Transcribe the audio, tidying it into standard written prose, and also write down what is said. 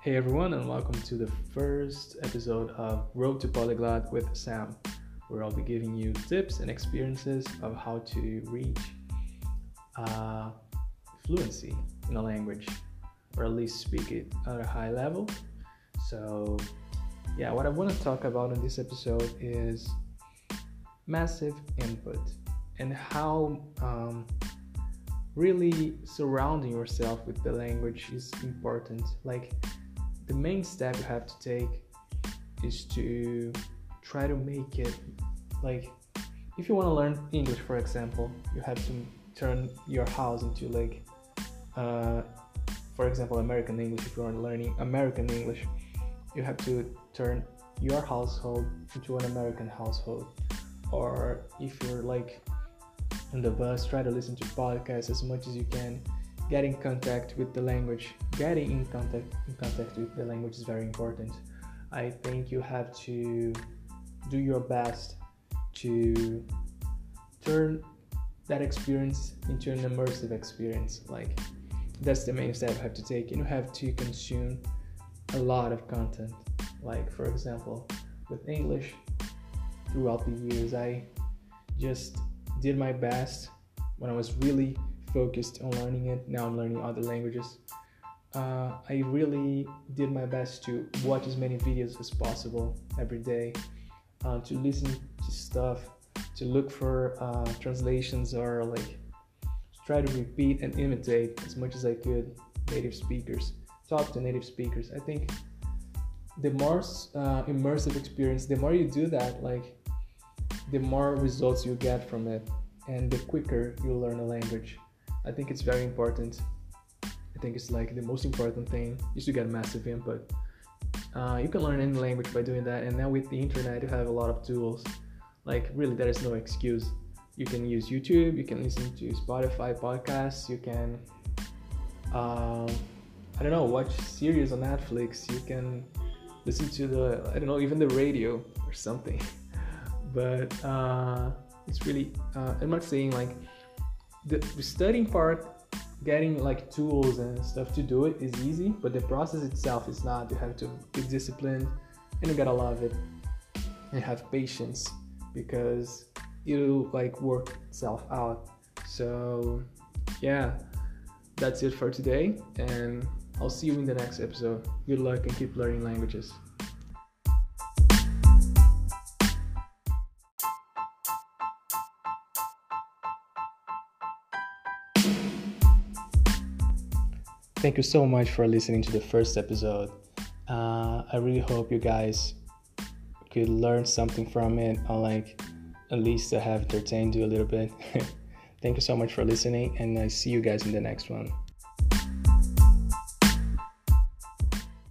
Hey everyone, and welcome to the first episode of Road to Polyglot with Sam, where I'll be giving you tips and experiences of how to reach fluency in a language, or at least speak it at a high level. So, what I want to talk about in this episode is massive input and how really surrounding yourself with the language is important. Like, the main step you have to take is to try to make it, like, if you want to learn English, for example, you have to turn your house into for example, American English. If you are learning American English, you have to turn your household into an American household. Or if you're on the bus, try to listen to podcasts as much as you can. Get in contact with the language. Getting in contact with the language is very important. I think you have to do your best to turn that experience into an immersive experience. Like, that's the main step you have to take. You have to consume a lot of content. Like, for example, with English, throughout the years, I just did my best when I was really focused on learning it. Now I'm learning other languages. I really did my best to watch as many videos as possible every day, to listen to stuff, to look for translations, or try to repeat and imitate as much as I could native speakers. Talk to native speakers. I think the more immersive experience, the more you do that, the more results you get from it, and the quicker you learn a language. I think it's very important. I think it's the most important thing is to get massive input. You can learn any language by doing that, and now with the internet you have a lot of tools. Really, there is no excuse. You can use YouTube, you can listen to Spotify podcasts, you can watch series on Netflix, you can listen to even the radio or something. But it's really I'm not saying the studying part, getting tools and stuff to do it is easy, but the process itself is not. You have to be disciplined, and you gotta love it and have patience, because it'll work itself out. So that's it for today, and I'll see you in the next episode. Good luck and keep learning languages. Thank you so much for listening to the first episode. I really hope you guys could learn something from it, or at least have entertained you a little bit. Thank you so much for listening, and I see you guys in the next one.